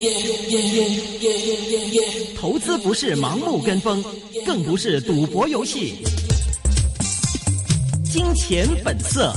投資不是盲目跟風，更不是賭博遊戲。金錢本色。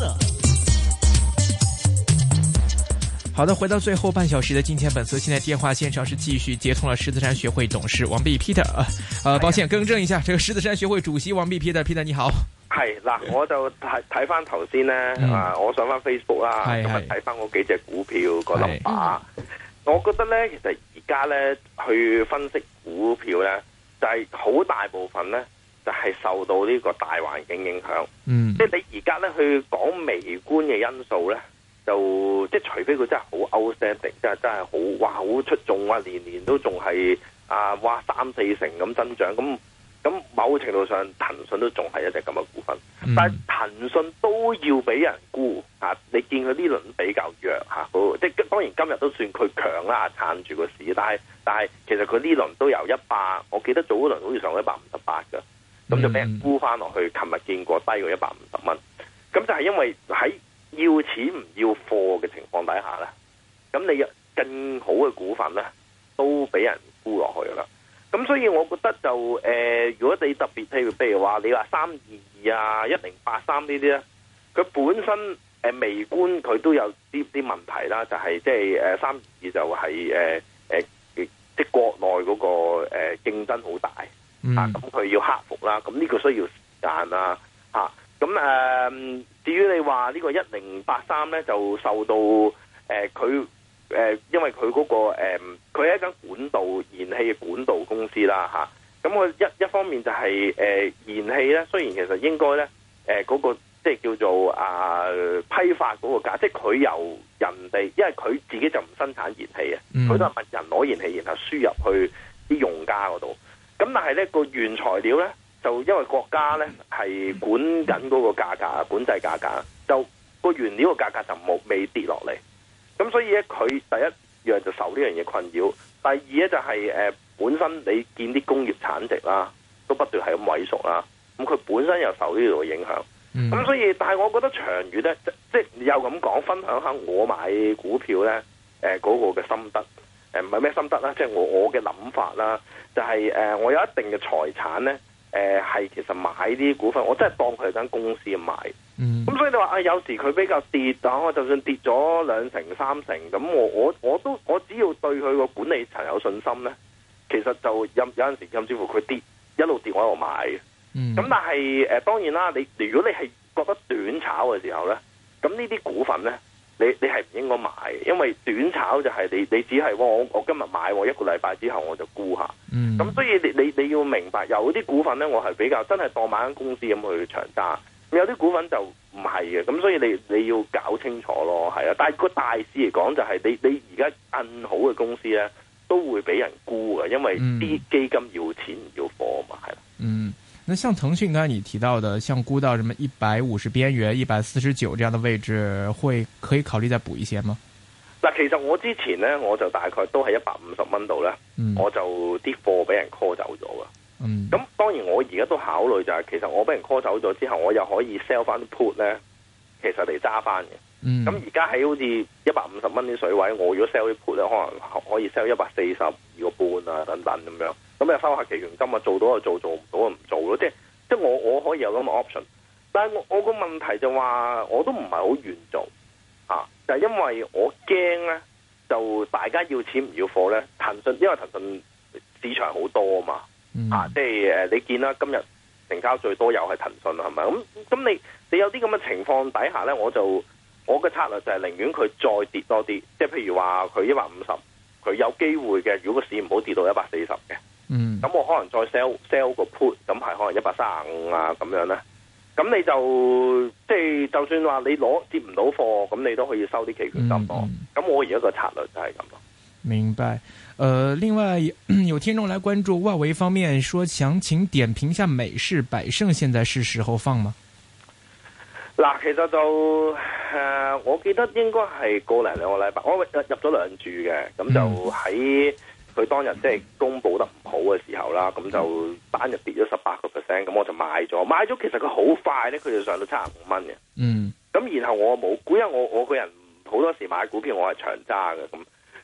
好的，回到最後半小時的金錢本色，現在電話線上是繼續接通了獅子山學會董事王弼 Peter。抱歉更正一下，這個獅子山學會主席王弼 Peter 你好。 係嗱，我就睇翻頭先咧，我上翻 Facebook 啦，咁啊睇翻嗰幾隻股票個 number，我覺得咧，其實而家咧去分析股票咧，就係好大部分咧就係受到呢個大環境影響。即係你而家咧去講微觀嘅因素咧，就即係除非佢真係好 outstanding，真係好哇好出眾啊，年年都仲係哇3-4成咁增長咁某程度上，騰訊都仲係一隻咁嘅股份，但係騰訊都要俾人沽嚇。你見佢呢輪比較弱嚇，即係當然今日都算佢強啦，撐住個市。但係其實佢呢輪都由100，我記得早嗰輪好似上到158嘅，咁就俾人沽翻落去。琴日見過低過150蚊，咁就係因為喺要錢唔要貨嘅情況底下咧，咁你更好嘅股份咧都俾人沽落去啦。咁所以我覺得就如果你特別譬如話你話322啊、1083呢啲咧，佢本身微觀佢都有啲問題啦，就係即係322就係即係國內嗰個競爭好大咁佢要克服啦，咁呢個需要時間啦咁至於你話呢個1083咧，就受到佢因為佢嗰個佢係一間管道燃氣嘅管道公司啦咁佢一方面就係燃氣咧，雖然其實應該咧嗰個即係叫做批發嗰個價，即係佢由人哋，因為佢自己就唔生產燃氣嘅，佢都係問人攞燃氣，然後輸入去啲用家嗰度。咁但係咧個原材料咧，就因為國家咧係管緊嗰個價格，管制價格，就個原料個價格就未跌落嚟。咁所以咧，佢第一樣就受呢樣嘢困擾，第二咧就係本身你見啲工業產值啦，都不斷係咁萎縮啦，咁佢本身又受呢度嘅影響，咁所以，但係我覺得長遠咧，即係又咁講，分享下我買股票咧，嗰個嘅心得，唔係咩心得啦，即係我嘅諗法啦，就係我有一定嘅財產咧，係其實買啲股份，我真係當佢係間公司買。咁所以你話有時佢比較跌，但我就算跌咗2成3成，咁我只要對佢個管理層有信心咧，其實就有陣時甚至乎佢跌一路跌我喺度買嘅。咁但係當然啦，如果你係覺得短炒嘅時候咧，咁呢啲股份咧，你係唔應該買嘅，因為短炒就係你只係我今日買，一個禮拜之後我就沽下。咁所以你要明白，有啲股份咧，我係比較真係當買間公司咁去長揸。有啲股份就唔係嘅，咁所以你要搞清楚咯，係啊。但係個大市嚟講，就係你而家更好嘅公司咧，都會俾人沽嘅，因為啲基金要錢唔要貨嘛，係啦。 那像騰訊剛才你提到的，像沽到什麼150邊緣、149這樣的位置，可以考慮再補一些嗎？ 嗱，其實我之前咧，我就大概都係150蚊度咧，我就啲貨俾人 call 走咗噶。咁當然我而家都考慮就係，其實我俾人 call 走咗之後，我又可以 sell 翻啲 put 咧，其實嚟揸翻嘅。咁而家喺好似150蚊啲水位，我如果 sell 啲 put 咧，可能可以 sell 142個半啊等等咁樣。咁又收下期權金啊，做到就做，做唔到就唔做咯。即係我可以有咁嘅 option，但係我個問題就話，我都唔係好願做就係因為我驚咧，就大家要錢唔要貨咧。騰訊因為騰訊市場好多啊嘛。即係你見啦，今日成交最多又係騰訊啦，係咪？咁你有啲咁嘅情況底下咧，我嘅策略就係寧願佢再跌多啲，即係譬如話佢150，佢有機會嘅，如果個市唔好跌到140嘅，咁我可能再 sell 個 put，咁係可能135啊咁樣咧。咁你就即係就算話你接唔到貨，咁你都可以收啲期權金咯。咁我而家個策略就係咁咯。 明白。另外有聽眾來關注外圍方面，說想請點評一下美市百勝，現在是時候放嗎？ 嗱，其實就我記得應該係個零2個禮拜，我入咗2注嘅，咁就喺佢當日即係公布得唔好嘅時候啦，咁就單日跌咗18%，咁我就買咗，其實佢好快咧，佢就上到75蚊嘅。咁然後我冇估，因為我個人好多時買股票我係長揸嘅咁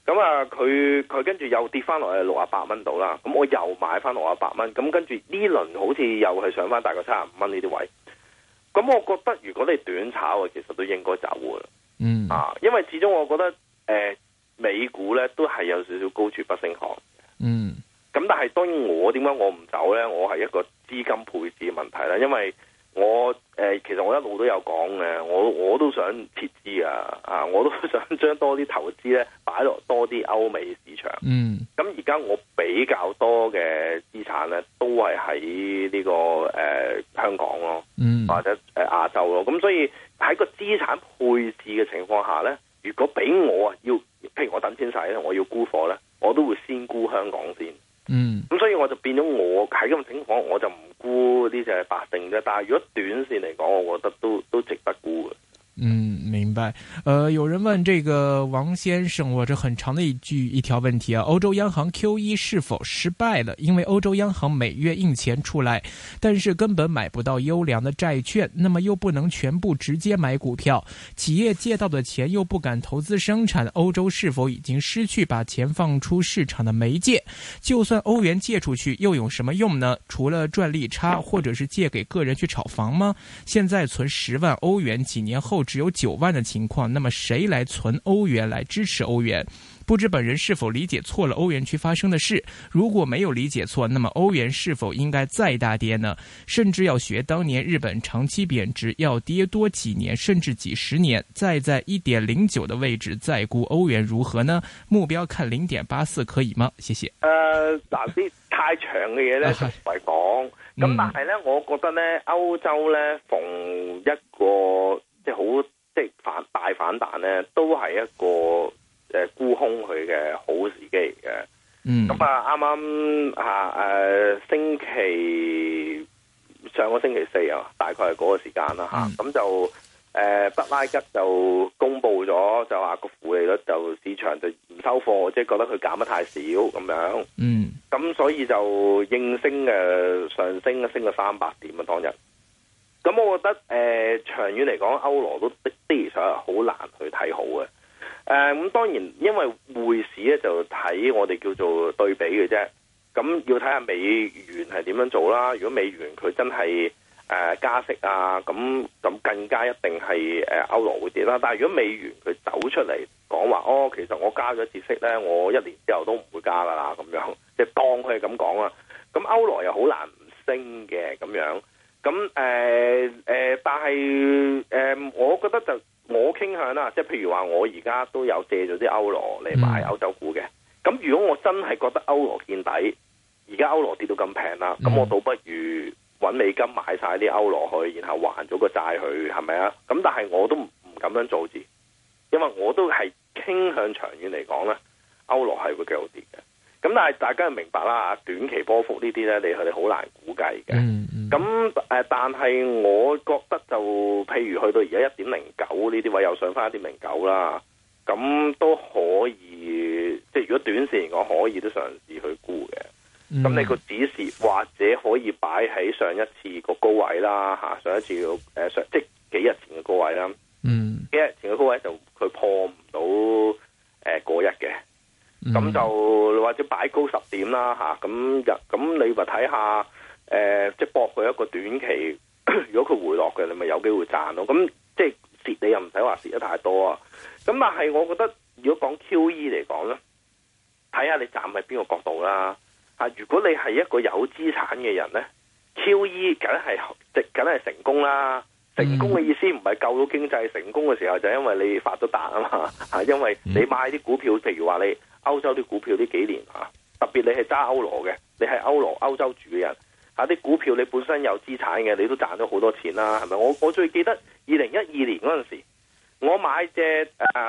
咁啊，佢跟住又跌翻落去68蚊度啦。咁我又買翻68蚊。咁跟住呢輪好似又係上翻大概75蚊呢啲位。咁我覺得如果你短炒其實都應該走嘅。因為始終我覺得美股咧都係有少少高處不勝寒。咁但係當然點解我唔走咧？我係一個資金配置嘅問題啦。因為我其實我一路都有講嘅，我都想撤資啊！我都想將多啲投資咧擺落多啲歐美市場。咁而家我比較多嘅資產咧都係喺呢個香港咯，或者亞洲咯。咁所以喺個資產配置嘅情況下咧，如果俾我要，譬如我等錢使咧，我要沽貨咧，我都會先沽香港先。咁所以我就變咗我喺咁嘅情況，我就唔沽呢隻百勝啫。但係如果短線嚟講，我覺得都值得沽嘅。 明白。有人問這個王先生，我這很長的一條問題啊，歐洲央行 QE 是否失敗了？因為歐洲央行每月印錢出來，但是根本買不到優良的債券，那麼又不能全部直接買股票，企業借到的錢又不敢投資生產，歐洲是否已經失去把錢放出市場的媒介？就算歐元借出去又有什麼用呢？除了賺利差，或者是借給個人去炒房嗎？現在存10萬歐元，幾年後只有9萬的情況，那麼誰來存歐元來支持歐元？不知本人是否理解錯了歐元區發生的事？如果沒有理解錯，那麼歐元是否應該再大跌呢？甚至要學當年日本長期貶值，要跌多幾年甚至幾十年，再在 1.09 的位置再估歐元如何呢？目標看 0.84 可以嗎？謝謝。 嗱啲太長嘅嘢咧就唔係講，咁但係咧，我覺得咧歐洲咧逢一個即係好即係大反彈咧，都係一個沽空佢嘅好時機嚟嘅。咁啱啱星期上個星期4啊，大概係嗰個時間啦嚇。咁就德拉吉就公布咗，就話個負利率就市場就唔收貨，即係覺得佢減得太少咁樣。咁所以就應聲上升升咗300點啊當日。咁我覺得長遠嚟講，歐羅都的而且確好難去睇好嘅。咁當然因為匯市咧就睇我哋叫做對比嘅啫。咁要睇下美元係點樣做啦。如果美元佢真係加息啊，咁更加一定係歐羅會跌啦。但係如果美元佢走出嚟講話，其實我加咗次息咧，我1年之後都唔會加噶啦，咁樣即係當佢係咁講啦。咁歐羅又好難唔升嘅咁樣。咁但係我覺得就我傾向啦，即係譬如話我而家都有借咗啲歐羅嚟買歐洲股嘅。咁如果我真係覺得歐羅見底，而家歐羅跌到咁平啦，咁我倒不如揾美金買晒啲歐羅去，然後還咗個債去，係咪啊？咁但係我都唔咁樣做字，因為我都係傾向長遠嚟講咧，歐羅係會繼續跌嘅。咁但係大家要明白啦，短期波幅呢啲咧，佢哋好難估計嘅。咁但係我覺得就譬如去到而家1.09呢啲位又上翻1.09啦，咁都可以，即係如果短線嚟講可以都嘗試去估嘅。咁你個指示或者可以擺喺上一次個高位啦，上一次即係幾日前嘅高位啦。幾日前嘅高位就佢破唔到過一嘅。咁就或者擺高10點啦，咁你咪睇下即係搏佢一個短期，如果佢回落嘅，你咪有機會賺咯。咁即係蝕你又唔使話蝕得太多啊。咁但係我覺得如果講 QE 嚟講咧，睇下你站喺邊個角度啦。如果你係一個有資產嘅人咧，QE 梗係成功啦。成功嘅意思唔係救到經濟，成功嘅時候就因為你發咗達啊嘛。因為你買啲股票，譬如話你歐洲啲股票呢幾年特別你係揸歐羅嘅，你係歐洲住嘅人啲股票你本身有資產嘅，你都賺咗好多錢啦，係咪？我最記得2012年嗰陣時，我買隻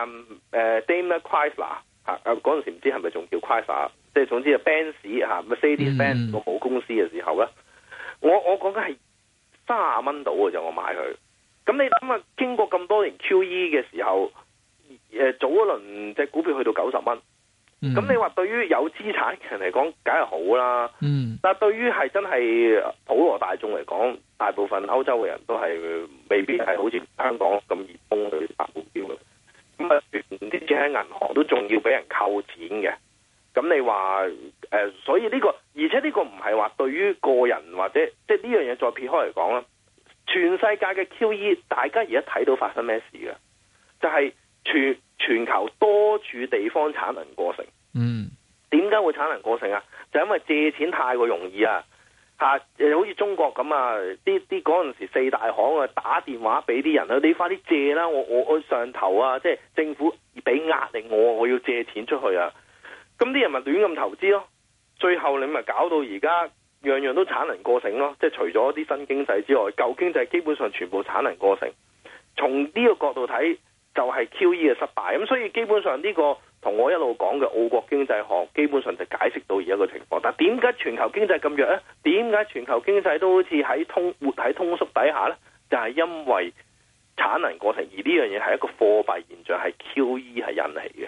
Daimler Chrysler 嗰陣時唔知係咪仲叫 Chrysler， 即係總之係 Benz Mercedes-Benz 個母公司嘅時候咧，我講緊係30蚊到嘅就我買佢。咁你諗下，經過咁多年 QE 嘅時候，早一輪隻股票去到90蚊。咁你話對於有資產嘅人嚟講，梗係好啦。但係對於係真係普羅大眾嚟講，大部分歐洲嘅人都係未必係好似香港咁熱衷去買股票嘅。 咁啊啲錢喺銀行都仲要俾人扣錢嘅。咁你話所以呢個，而且呢個唔係話對於個人或者即係呢樣嘢再撇開嚟講啦，全世界嘅 QE 大家而家睇到發生咩事嘅，就係全球多處地方產能過剩。點解會產能過剩啊？就因為借錢太過容易啊！好似中國咁啊，啲嗰陣時四大行啊打電話俾啲人啊，你快啲借啦！我上頭啊，即係政府俾壓力我要借錢出去啊！咁啲人咪亂咁投資咯，最後你咪搞到而家樣樣都產能過剩咯。即係除咗啲新經濟之外，舊經濟基本上全部產能過剩。從呢個角度睇，就係 QE 嘅失敗。咁所以基本上呢個同我一路講嘅澳國經濟學，基本上就解釋到而家個情況。但係點解全球經濟咁弱呢？點解全球經濟都好似活喺通縮底下呢？就係因為產能過剩，而呢樣嘢係一個貨幣現象，係 QE 係引起嘅。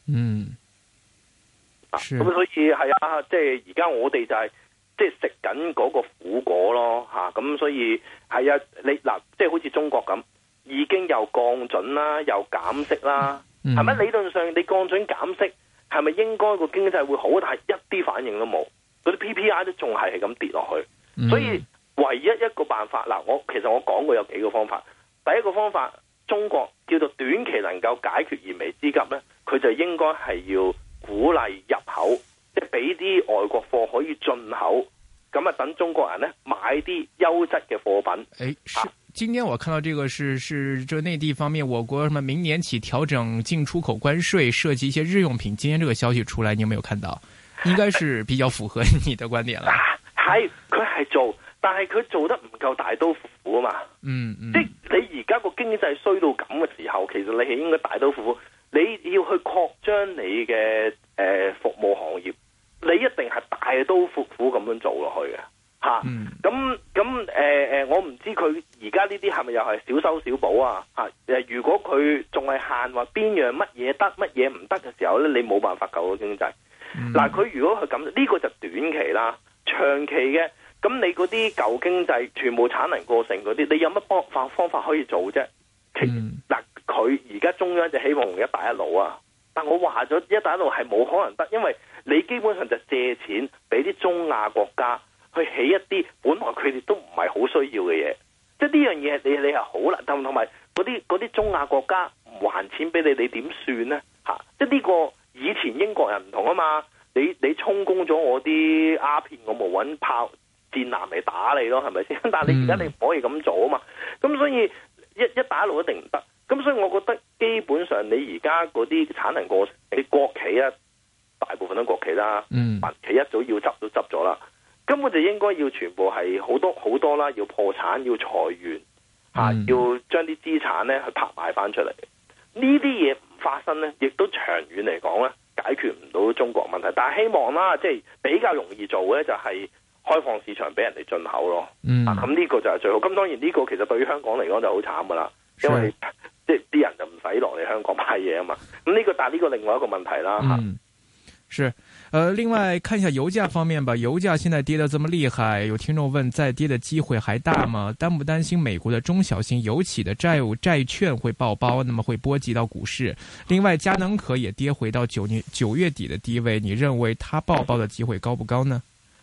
咁所以係啊，即係而家我哋就係即係食緊嗰個苦果咯，咁所以係啊，你嗱，即係好似中國咁，已經又降準啦，又減息啦，係咪？理論上你降準減息，係咪應該個經濟會好？但係一啲反應都冇，嗰啲 PPI 都仲係咁跌落去，所以唯一一個辦法嗱，其實我講過有幾個方法。第一個方法，中國叫做短期能夠解決燃眉之急咧，佢就應該係要鼓勵入口，即係俾啲外國貨可以進口，咁啊等中國人呢買啲優質嘅貨品。 今天我看到這個是這內地方面，我國什麼明年起調整進出口關稅，涉及一些日用品。今天這個消息出來，你有沒有看到？應該是比較符合你的觀點啦。 係，佢係做，但係佢做得唔夠大刀闊斧啊嘛。即係你而家個經濟衰到咁嘅時候，其實你係應該大刀闊斧。你要去擴張你嘅服務行業，你一定係大刀闊斧咁樣做落去嘅嚇。我唔知佢而家呢啲係咪又係小修小補啊？如果佢仲係限話邊樣乜嘢得乜嘢唔得嘅時候咧，你冇辦法救到經濟。佢如果佢咁，呢個就短期啦。長期嘅，咁你嗰啲舊經濟全部產能過剩嗰啲，你有乜方法可以做啫？佢而家中央就希望用一帶一路啊，但我話咗一帶一路係冇可能得，因為你基本上就借錢俾啲中亞國家去起一啲本來佢哋都唔係好需要嘅嘢，即係呢樣嘢你係好難，同埋嗰啲中亞國家唔還錢俾你，你點算呢？即係呢個以前英國人唔同啊嘛，你充公咗我啲鴉片，我冇揾炮戰艦嚟打你咯，係咪先？但係你而家你唔可以咁做啊嘛，咁所以一帶一路一定唔得。咁所以我覺得基本上你而家嗰啲產能過剩，你國企啊，大部分都國企啦，民企一早要執都執咗啦，根本就應該要全部係好多啦，要破產，要裁員，要將啲資產咧去拍賣翻出嚟。呢啲嘢唔發生咧，亦都長遠嚟講咧解決唔到中國問題。但係希望啦，即係比較容易做嘅就係開放市場俾人哋進口咯。咁呢個就係最好。咁當然呢個其實對於香港嚟講就好慘噶啦，因為即係啲人就唔使落嚟香港買嘢啊嘛，咁呢個但係呢個另外一個問題啦。 是，另外看一下油價方面吧。油價現在跌得這麼厲害，有聽眾問再跌的機會還大嗎？擔不擔心美國的中小型油企的債券會爆包，那麼會波及到股市？另外，嘉能可也跌回到9月底的低位，你認為它爆包的機會高不高呢？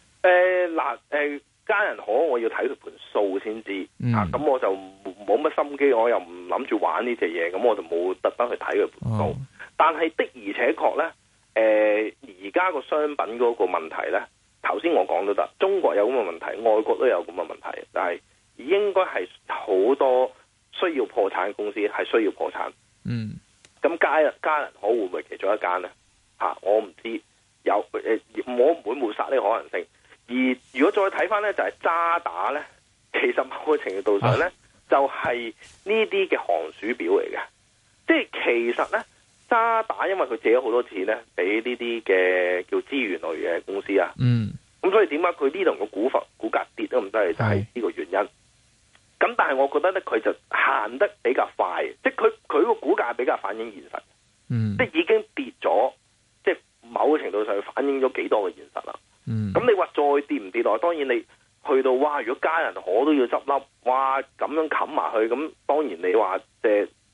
嘉能可我要睇佢盤數先知，咁我就冇乜心機，我又唔諗住玩呢隻嘢，咁我就冇特登去睇佢盤數。但係的而且確呢，而家個商品嗰個問題呢，頭先我講都得，中國有咁嘅問題，外國都有咁嘅問題，但係應該係好多需要破產嘅公司係需要破產。咁嘉能可會唔會其中一間呢？我唔知，我唔會抹殺呢個可能性。而如果再睇翻呢，就係渣打呢，其實某個程度上呢，就係呢啲嘅寒暑表嚟嘅。即係其實呢，渣打因為佢借咗好多錢呢，俾呢啲嘅叫資源類嘅公司啊。咁所以點解佢呢度嘅股價跌都唔得，就係呢個原因。咁但係我覺得呢，佢就行得比較快，即係佢個股價比較反映現實。即係已經跌咗，即係某個程度上反映咗幾多嘅現實啦。咁你話再跌唔跌落？當然你去到哇，如果嘉能可都要執笠，哇咁樣冚埋去，咁當然你話即係288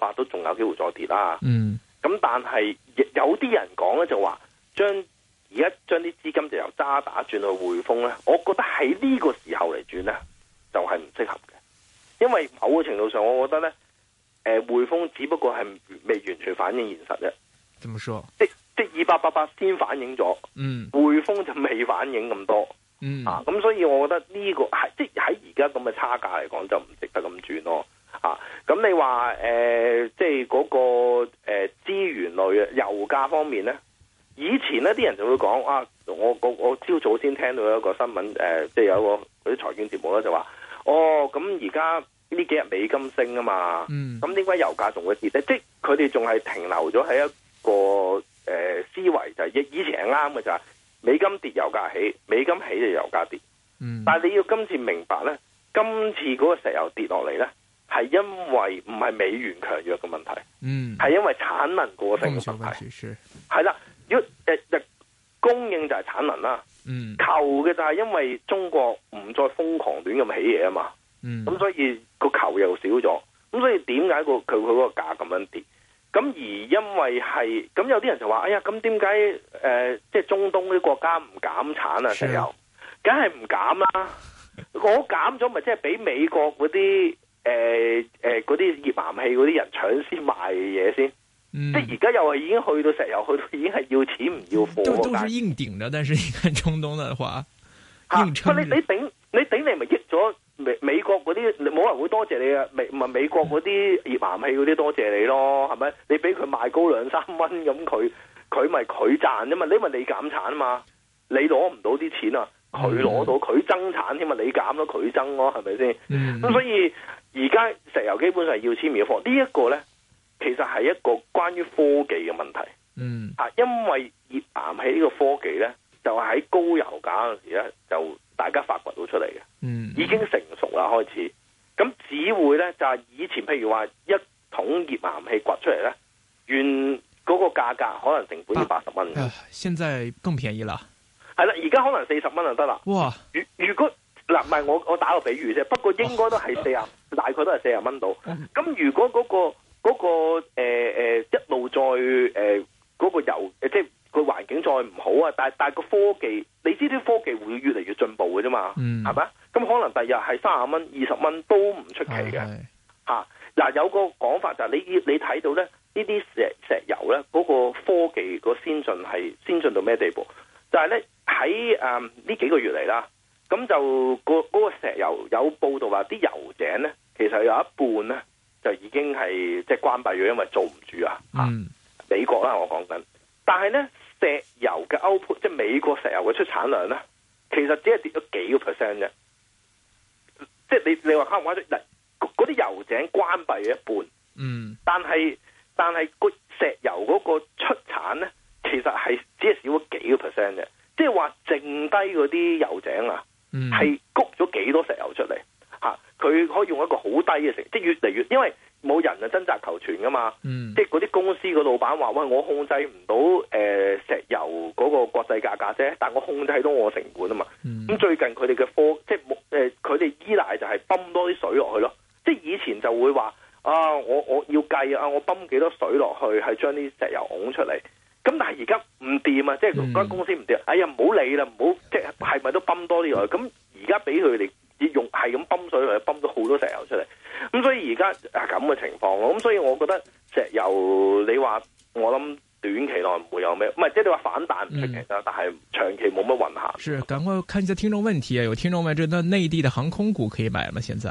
888都仲有機會再跌啦。 嗯。 咁但係有啲人講咧就話而家將啲資金就由渣打轉去匯豐咧，我覺得喺呢個時候嚟轉咧就係唔適合嘅，因為某個程度上我覺得咧，匯豐只不過係未完全反映現實啫。 怎麼說？ 即2888先反映咗，匯豐就未反映咁多，咁所以我覺得呢個係即喺而家咁嘅差價嚟講就唔值得咁轉咯。咁你話即係嗰個資源類油價方面咧，以前咧啲人就會講啊，我朝早先聽到一個新聞，即係有一個嗰啲財經節目咧就話，咁而家呢幾日美金升啊嘛，咁點解油價仲會跌咧？即係佢哋仲係停留咗喺一個思維，就係以前係啱嘅，就係美金跌油價起，美金起就油價跌。但係你要今次明白咧，今次嗰個石油跌落嚟咧，係因為唔係美元強弱嘅問題，係因為產能過剩嘅問題。係啦，如果供應就係產能啦，求嘅就係因為中國唔再瘋狂亂咁起嘢啊嘛，咁所以個求又少咗，咁所以點解佢嗰個價咁樣跌？咁而因為係咁，有啲人就話：哎呀，咁點解即係中東啲國家唔減產啊？石油梗係唔減啦，我減咗咪即係俾美國嗰啲嗰啲頁岩氣嗰啲人搶先賣嘢先。即係而家又係已經去到石油，去到已經係要錢唔要貨。 都是硬頂的，但是你看中東的話，硬撐。 你頂你咪益咗美國嗰啲，冇人會多謝你啊！美國嗰啲頁岩氣嗰啲多謝你咯，係咪？你俾佢賣高2-3蚊，咁佢咪佢賺啫嘛？你咪你減產啊嘛？你攞唔到啲錢啊，佢攞到，佢增產添嘛？你減咗佢增咯，係咪先？咁所以而家石油基本上係要錢唔要貨，呢一個咧。其實係一個關於科技嘅問題，因為頁岩氣呢個科技咧，就係喺高油價嗰陣時咧，就大家發掘到出嚟嘅，已經成熟啦開始。咁只會咧就係以前譬如話一桶頁岩氣掘出嚟咧，原嗰個價格可能成本要80蚊， 現在更便宜啦。 係啦，而家可能40蚊就得啦。哇！如果嗱唔係我打個比喻啫，不過應該都係大概都係40蚊到。咁如果嗰個一路再嗰個油即係個環境再唔好啊，但係個科技，你知啲科技會越嚟越進步嘅啫嘛，係咪？咁可能第日係30蚊、20蚊都唔出奇嘅嚇。嗱，有個講法就係你睇到咧呢啲石油咧嗰個科技個先進係先進到咩地步？就係咧喺呢幾個月嚟啦，咁就嗰個石油有報道話啲油井咧其實有一半咧。就已經係即係關閉咗，因為做唔住啊！美國啦，我講緊。但係咧，石油嘅 output，即係美國石油嘅出產量咧，其實只係跌咗幾個 percent 啫。即係你話誇唔誇張？嗱，嗰啲油井關閉咗一半，但係個石油嗰個出產咧，其實係只係少咗幾個 percent 啫。即係話剩低嗰啲油井啊，係谷咗幾多石油出嚟？佢可以用一個好低嘅成，即係越嚟越，因為冇人啊掙扎求全噶嘛。即係嗰啲公司個老闆話：喂，我控制唔到石油嗰個國際價格啫，但我控制到我成本啊嘛。咁最近佢哋嘅即係佢哋依賴就係泵多啲水落去咯。即係以前就會話啊，我要計啊，我泵幾多水落去係將啲石油拱出嚟。咁但係而家唔掂啊，即係嗰間公司唔掂。哎呀，唔好理啦，唔好即係咪都泵多啲落去？咁而家俾佢哋。用係咁泵水嚟，泵到好多石油出嚟，咁所以而家咁嘅情況咯，咁所以我覺得石油你話我諗短期內唔會有咩，唔係即係你話反彈唔出奇啦，但係長期冇乜運行。 是，趕快看一下聽眾問題啊！有聽眾問：這內地的航空股可以買嗎？現在？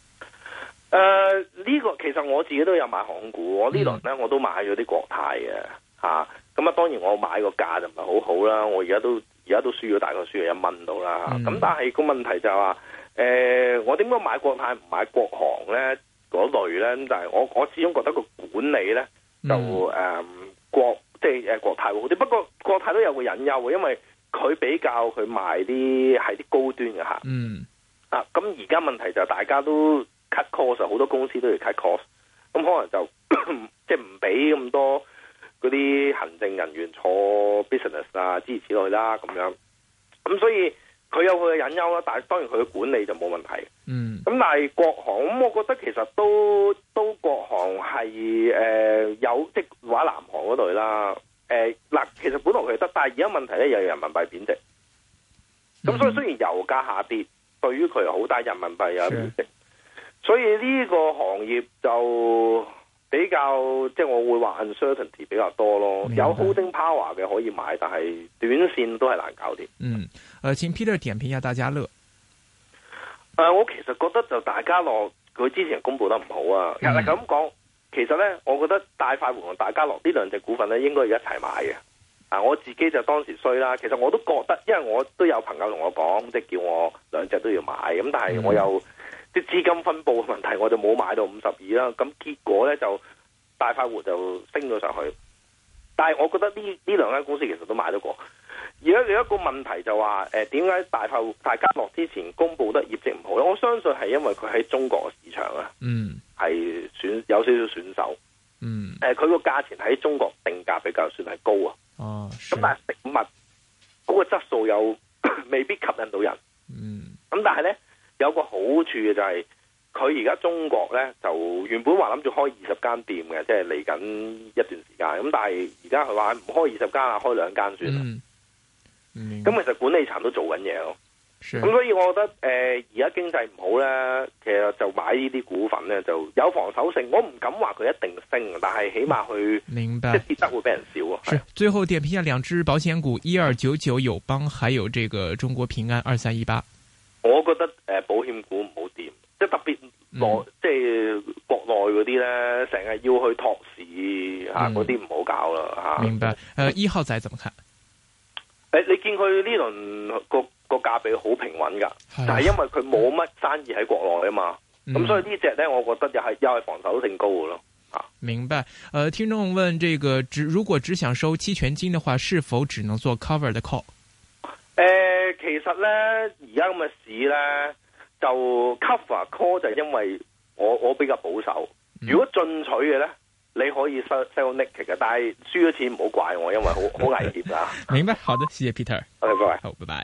呢個其實我自己都有買航空股，我呢輪咧我都買咗啲國泰嘅嚇，咁當然我買個價就唔係好好啦，我而家都輸咗大概輸咗1蚊到啦，咁但係個問題就係話。我點解買國泰唔買國航咧？嗰類咧，但係我始終覺得個管理咧就國泰會好啲。不過國泰都有個隱憂嘅，因為佢比較佢賣啲係啲高端嘅客。咁而家問題就大家都 cut cost， 好多公司都要 cut cost， 咁可能就即係唔俾咁多嗰啲行政人員坐 business 啊，諸如此類啦，咁樣。咁所以。佢有佢嘅隱憂啦，但係當然佢嘅管理就冇問題。咁但係國航咁，我覺得其實都都國航係有即係話南航嗰類啦。嗱，其實本來佢得，但係而家問題咧又有人民幣貶值。咁所以雖然油價下跌，對於佢好，但係人民幣又貶值，所以呢個行業就比較即係我會話 uncertainty 比較多咯。有 holding power 嘅可以買，但係短線都係難搞掂。 請 Peter 點評一下大家樂。 我其實覺得就大家樂佢之前公布得唔好啊。其實咁講，其實咧，我覺得大快活同大家樂呢兩隻股份咧，應該要一齊買嘅。我自己就當時衰啦。其實我都覺得，因為我都有朋友同我講，即係叫我兩隻都要買。咁但係我有啲資金分佈嘅問題，我就冇買到52啦。咁結果咧就大快活就升咗上去。但係我覺得呢兩間公司其實都買得過。而家有一個問題就話，點解大家樂之前公布得業績唔好咧？我相信係因為佢喺中國市場啊，係有少少損手。佢個價錢喺中國定價比較算係高啊。咁但係食物嗰個質素又未必吸引到人。咁但係咧有個好處嘅就係佢而家中國咧就原本話諗住開20間店嘅，即係嚟緊一段時間。咁但係而家佢話唔開20間啊，開2間算啦。咁其實管理層都做緊嘢咯。咁所以我覺得而家經濟唔好咧，其實就買呢啲股份咧就有防守性。我唔敢話佢一定升，但係起碼佢即係跌得會比人少啊。 是最後點評下兩隻保險股1299友邦，還有這個中國平安2318。 我覺得保險股唔好掂，即係特別即係國內嗰啲咧，成日要去托市嗰啲唔好搞啦。 明白。1號仔怎麼看？ 你見佢呢輪個價比好平穩噶，但係因為佢冇乜生意喺國內啊嘛，咁所以呢隻咧，我覺得又係防守性高嘅咯。 明白。聽眾問：這個如果只想收期權金的話，是否只能做 cover 的 call？ 其實咧，而家咁嘅市咧，就 cover call 就因為我比較保守。如果進取嘅咧，你可以 sell naked 嘅，但係輸咗錢唔好怪我，因為好危險噶。 明白，好的，謝謝 Peter。 OK，拜拜。 好，拜拜。